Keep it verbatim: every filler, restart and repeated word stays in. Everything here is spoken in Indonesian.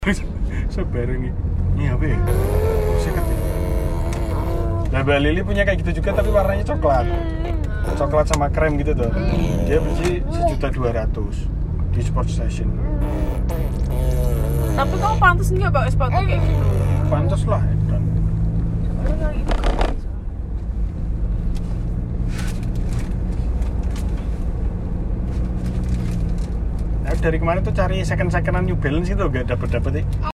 Sebareng ini. Ini apa ya? Seket ya? Nah, Mbak Lili punya kayak gitu juga tapi warnanya coklat. Coklat sama krem gitu tuh. Dia beli sejuta dua ratus di Sport Station. Tapi kamu pantas nggak pakai sepatu kayak gitu? Pantas lah, kan. Nah, dari kemarin tuh cari second-secondan New Balance itu gak dapet-dapet ya.